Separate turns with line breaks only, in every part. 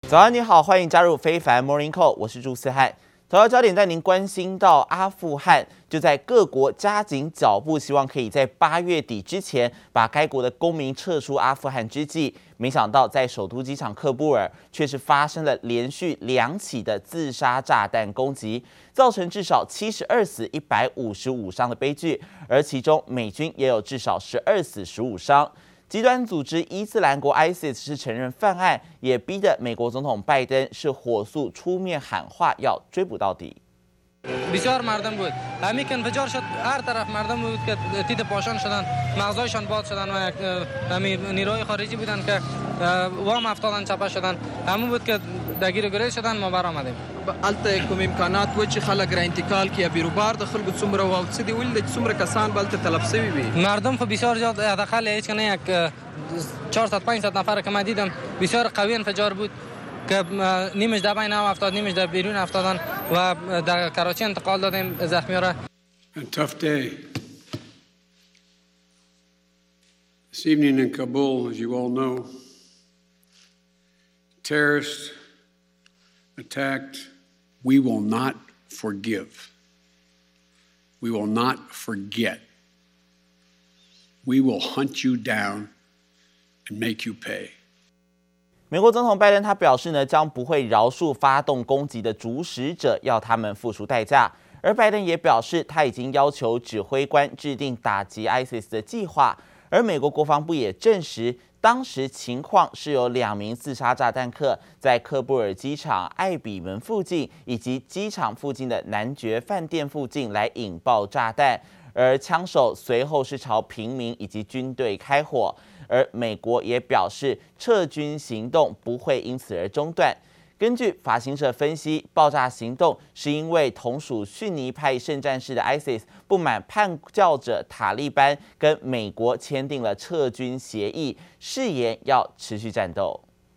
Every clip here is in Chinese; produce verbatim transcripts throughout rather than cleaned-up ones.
早安，你好，歡迎加入非凡 Morning Call， 我是朱思翰。頭條焦點帶您關心到阿富汗，就在各國加緊腳步，希望可以在八月底之前把該國的公民撤出阿富汗之際，沒想到在首都機場喀布爾卻是發生了連續兩起的自殺炸彈攻擊，造成至少七十二死、一百五十五傷的悲劇，而其中美軍也有至少十二死、十五傷。極端組織伊斯蘭國 I S I S 是承認犯案，也逼得美國總統拜登是火速出面喊話，要追捕到底。
بسیار مردم بود. همین که انفجار شد هر طرف مردم بود که تیت پاشان شدن، مغزایشان باد شدن و همین نیروهای خارجی بودن که وام افتادن چپه شدن. همون بود که درگیر گریز شدن ما برآمدیم.
البته کوم امکانات و چې خلک را انتقال کیه بیروبار د خلکو څومره او څه دی ولې څومره کسان بلته طلب شوی وي.
مردم خو بسیار زیاد حداقل هیچ کنه یک چهارصد پانصد نفر که من دیدم بسیار قوی انفجار بود که نیمش در بین هم افتاد نیمش در بیرون افتادن و در کراچی انتقال دادیم زخمی‌ها را.
A tough day. This evening in Kabul, as you all know, terrorists attacked. We will not forgive. We will not forget. We will hunt you down and make you pay.
美國總統拜登他表示呢，將不會饒恕發動攻擊的主使者，要他們付出代價。而拜登也表示，他已經要求指揮官制定打擊 I S I S 的計劃。而美國國防部也證實，當時情況是有兩名自殺炸彈客在喀布爾機場艾比門附近以及機場附近的男爵飯店附近來引爆炸彈，而槍手隨後是朝平民以及軍隊開火。而美國也表示，撤軍行動不會因此而中斷。根據法新社分析，爆炸行動是因為同屬遜尼派聖戰士的 I S I S 不滿叛教者塔利班跟美國簽訂了撤軍協議，誓言要持續戰鬥。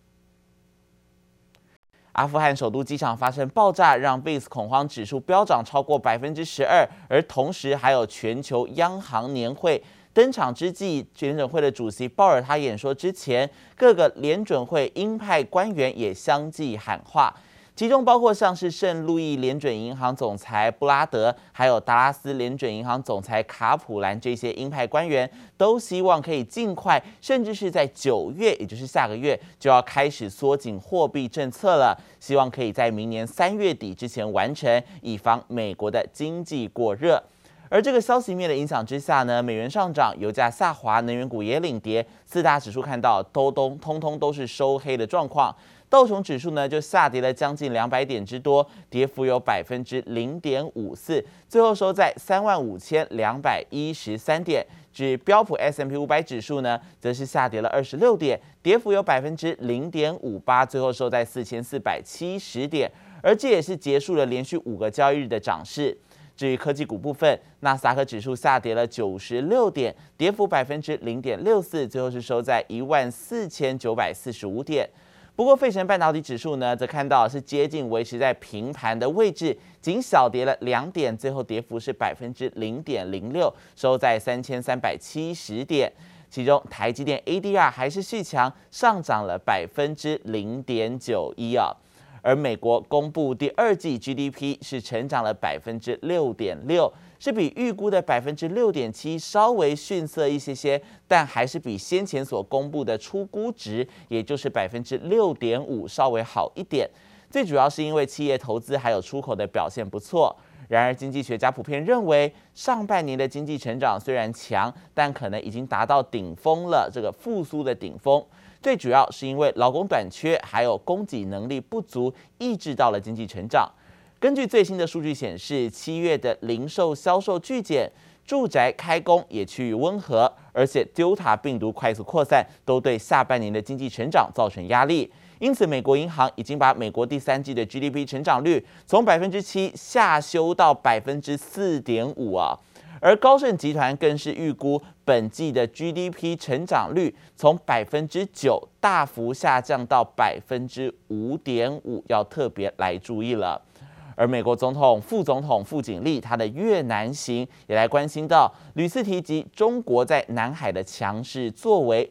阿富汗首都機場發生爆炸，讓 V I X 恐慌指數飆漲超過百分之十二，而同時還有全球央行年會登場之際，聯準會的主席鮑爾他演說之前，各個聯準會鷹派官員也相繼喊話，其中包括像是聖路易聯準銀行總裁布拉德，還有達拉斯聯準銀行總裁卡普蘭這些鷹派官員，都希望可以盡快，甚至是在九月，也就是下個月就要開始縮緊貨幣政策了，希望可以在明年三月底之前完成，以防美國的經濟過熱。而這個消息面的影響之下呢，美元上漲，油價下滑，能源股也領跌，四大指數看到都都通通都是收黑的狀況。道瓊指數呢就下跌了將近兩百點之多，跌幅有百分之零點五四，最後收在三萬五千兩百一十三點。至於標普 S and P 五百指數呢，則是下跌了二十六點，跌幅有百分之零點五八，最後收在四千四百七十點，而這也是結束了連續五個交易日的漲勢。至於科技股部分，納斯達克指數下跌了九十六點，跌幅百分之零點六四，最後是收在一萬四千九百四十五點。不過，費城半導體指數呢，則看到是接近維持在平盤的位置，僅小跌了兩點，最後跌幅是百分之零點零六，收在三千三百七十點。其中，台積電 A D R 還是續強，上漲了百分之零點九一啊。而美國公布第二季 G D P 是成長了百分之六點六，是比預估的百分之六點七稍微遜色一些些，但還是比先前所公布的初估值，也就是百分之六點五稍微好一點。最主要是因為企業投資還有出口的表現不錯。然而，經濟學家普遍認為，上半年的經濟成長雖然強，但可能已經達到頂峰了，這個復甦的頂峰。最主要是因為勞工短缺，還有供給能力不足，抑制到了經濟成長。根據最新的數據顯示，七月的零售銷售巨減，住宅開工也趨於溫和，而且 Delta 病毒快速擴散，都對下半年的經濟成長造成壓力。因此，美國銀行已經把美國第三季的 G D P 成長率從百分之七下修到百分之四點五啊。而高盛集團更是預估本季的 G D P 成長率從百分之九大幅下降到百分之五點五，要特別來注意了。而美國總統、副總統傅景立他的越南行也來關心到，屢次提及中國在南海的強勢作為。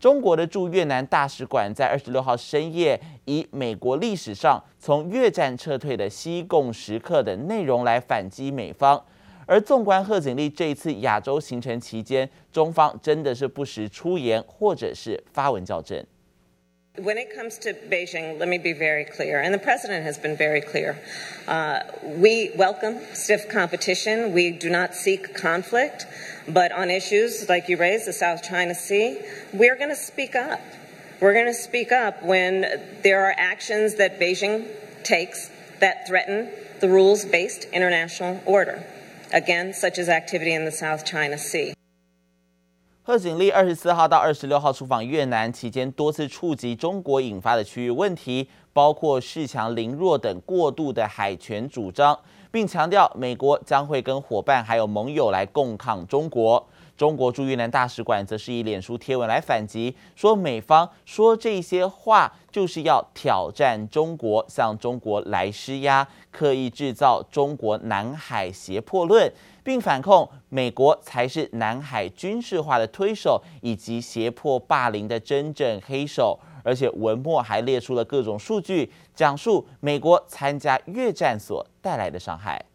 中國的駐越南大使館在二十六號深夜以美國歷史上從越戰撤退的西貢時刻的內容來反擊美方。而縱觀賀錦麗這一次亞洲行程期間，中方真的是不時出言或者是發文校正。
When it comes to Beijing, let me be very clear, and the president has been very clear. Uh, we welcome stiff competition. We do not seek conflict. But on issues like you raised, the South China Sea, we're going to speak up. We're going to speak up when there are actions that Beijing takes that threaten the rules-based international order. Again, such as activity in the South China Sea.
賀錦麗二十四號到二十六號出訪越南期間，多次觸及中國引發的區域問題，包括恃強凌弱等過度的海權主張，並強調美國將會跟夥伴還有盟友來共抗中國。中國駐越南大使館則是以臉書貼文來反擊，說美方說這些話就是要挑戰中國，向中國來施壓，刻意制造中國南海脅迫論，並反控美國才是南海軍事化的推手以及脅迫霸凌的真正黑手。而且文末還列出了各種數據，講述美國參加越戰所帶來的傷害。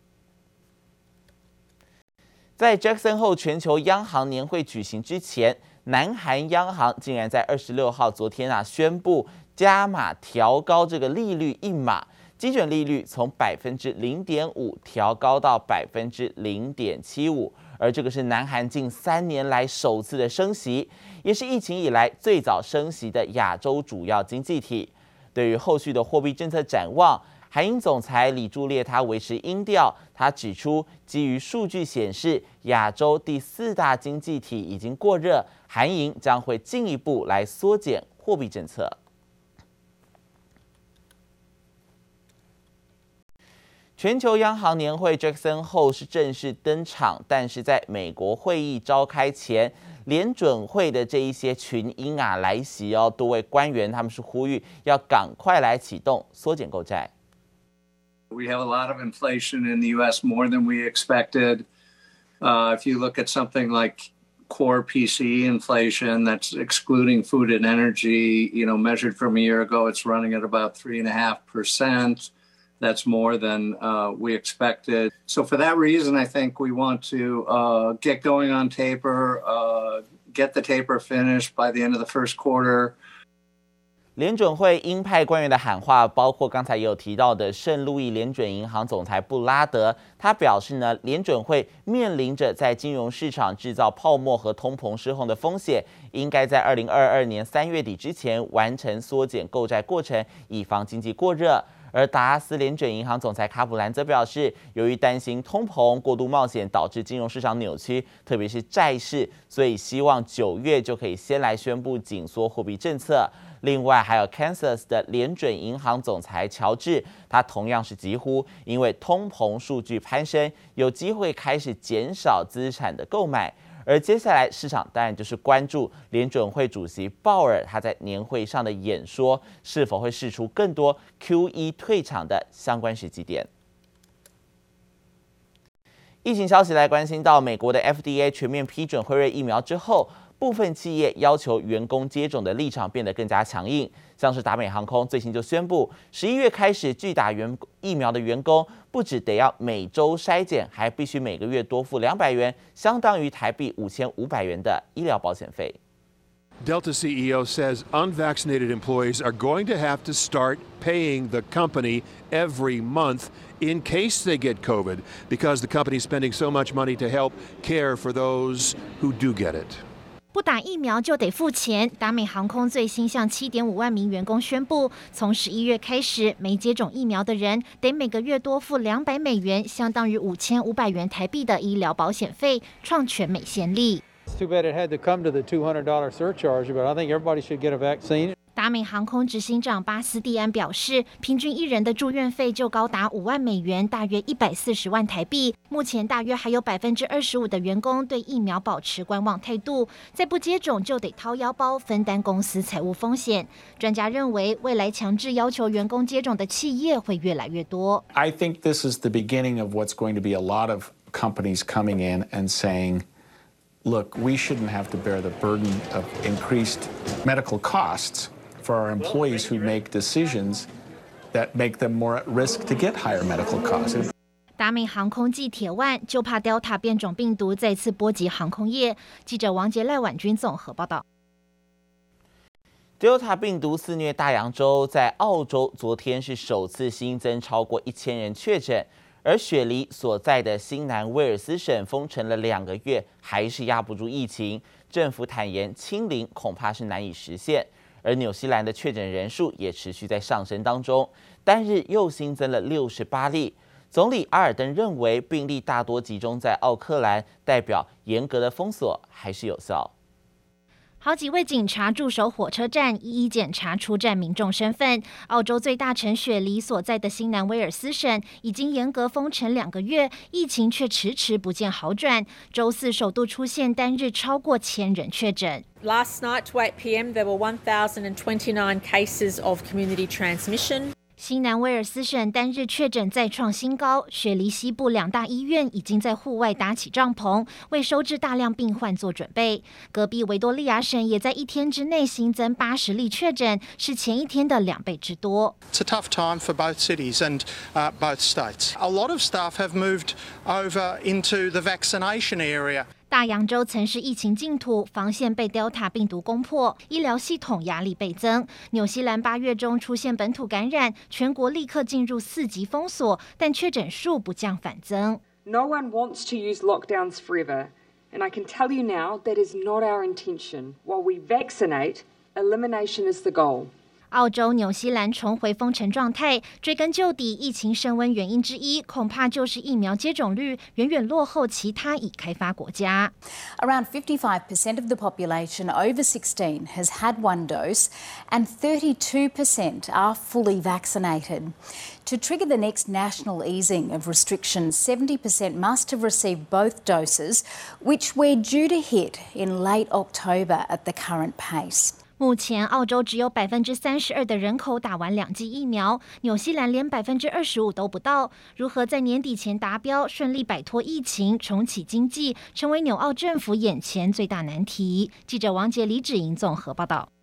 在 Jackson Hole 全球央行年會舉行之前，南韓央行竟然在二十六號昨天啊宣布加碼調高這個利率一碼，基準利率從百分之零點五調高到百分之零點七五，而這個是南韓近三年來首次的升息，也是疫情以來最早升息的亞洲主要經濟體。對於後續的貨幣政策展望，韓銀總裁李柱烈他維持鷹調，他指出，基於數據顯示亞洲第四大經濟體已經過熱，韓銀將會進一步來縮減貨幣政策。全球央行年會 Jackson Hole 是正式登場，但是在美國會議召開前，聯準會的這一些群英啊來襲哦，多位官員他們是呼籲要趕快來啟動縮減購債。
We have a lot of inflation in the U S, more than we expected. Uh, if you look at something like core P C E inflation, that's excluding food and energy, you know, measured from a year ago, it's running at about three and a half percent. That's more than uh, we expected. So for that reason, I think we want to uh, get going on taper, uh, get the taper finished by the end of the first quarter.
聯準會鷹派官員的喊話，包括剛才也有提到的聖路易聯準銀行總裁布拉德，他表示呢，聯準會面臨着在金融市場製造泡沫和通膨失控的風險，應該在二零二二年三月底之前完成縮減購債過程，以防經濟過熱。而達拉斯聯準銀行總裁卡普蘭則表示，由於擔心通膨過度冒險導致金融市場扭曲，特別是債市，所以希望九月就可以先來宣布緊縮貨幣政策。另外，還有 Kansas 的聯準銀行總裁喬治，他同樣是疾呼，因為通膨數據攀升，有機會開始減少資產的購買。而接下來，市場當然就是關注聯準會主席鮑爾他在年會上的演說，是否會釋出更多 Q E 退場的相關時機點。疫情消息來關心到美國的 F D A 全面批准輝瑞疫苗之後，部分企業要求員工接種的立場變得更加強硬，像是達美航空最新就宣布，十一月開始拒打員疫苗的員工，不只得要每周篩檢，還必須每個月多付兩百元，相當於台幣五千五百元的醫療保險費。
Delta C E O says unvaccinated employees are going to have to start paying the company every month in case they get COVID, because the company is spending so much money to help care for those who do get it.
不打疫苗就得付錢。達美航空最新向七點五萬名員工宣布，從十一月開始，沒接種疫苗的人得每個月多付兩百美元，相當於五千五百元台幣的醫療保險費，創全美先例。
It's too bad it had to come to the two hundred dollar surcharge, but I think everybody should get a vaccine.
達美航空執行長巴斯蒂安表示，平均一人的住院費就高達五萬美元，大約一百四十萬台幣。目前大約還有百分之二十五的員工對疫苗保持觀望態度，再不接種就得掏腰包分擔公司財務風險。專家認為，未來強制要求員工接種的企業會越來越多。
I think this is the beginning of what's going to be a lot of companies coming in and saying, look, we shouldn't have to bear the burden of increased medical costs for our employees who make decisions that make them more at risk to get higher medical costs.
达美航空暨鐵萬就怕 Delta 變種病毒再次波及航空業。記者王杰、賴婉君綜合報道。
Delta 病毒肆虐大洋洲，在澳洲昨天是首次新增超過一千人確診，而雪梨所在的新南威爾斯省封城了兩個月，還是壓不住疫情。政府坦言清零恐怕是難以實現，而紐西蘭的確診人數也持續在上升當中，單日又新增了六十八例。總理阿爾登認為病例大多集中在奧克蘭，代表嚴格的封鎖還是有效。
好幾位警察駐守火車站，一一檢查出站民眾身份。澳洲最大城雪梨所在的新南威爾斯省已經嚴格封城兩個月，疫情卻遲遲不見好轉。週四首度出現單日超過千人確診。
Last night to eight p m there were one thousand twenty-nine cases of community transmission.
新南威爾斯省單日確診再創新高，雪梨西部兩大醫院已經在戶外搭起帳篷，為收治大量病患做準備。隔壁維多利亞省也在一天之內新增八十例確診，是前一天的兩倍之多。
It's a tough time for both cities and uh, both states. A lot of staff have moved over into the vaccination area.
大洋洲曾是疫情淨土，防線被 Delta 病毒攻破，醫療系統壓力倍增。紐西蘭八月中出現本土感染，全國立刻進入四級封鎖，但確診數不降反增。
No one wants to use lockdowns forever, and I can tell you now that is not our intention. While we vaccinate, elimination is the goal.
澳洲、紐西蘭重回封城狀態，追根究底，疫情升溫原因之一，恐怕就是疫苗接種率遠遠落後其他已開發國家。
Around fifty-five percent of the population over sixteen has had one dose, and thirty-two percent are fully vaccinated. To trigger the next national easing of restrictions, seventy percent must have received both doses, which we're due to hit in late October at the current pace.
目前，澳洲只有百分之三十二的人口打完兩劑疫苗，紐西蘭連百分之二十五都不到。如何在年底前達標，順利擺脫疫情，重啟經濟，成為紐澳政府眼前最大難題。記者王杰、李芷瑩綜合報道。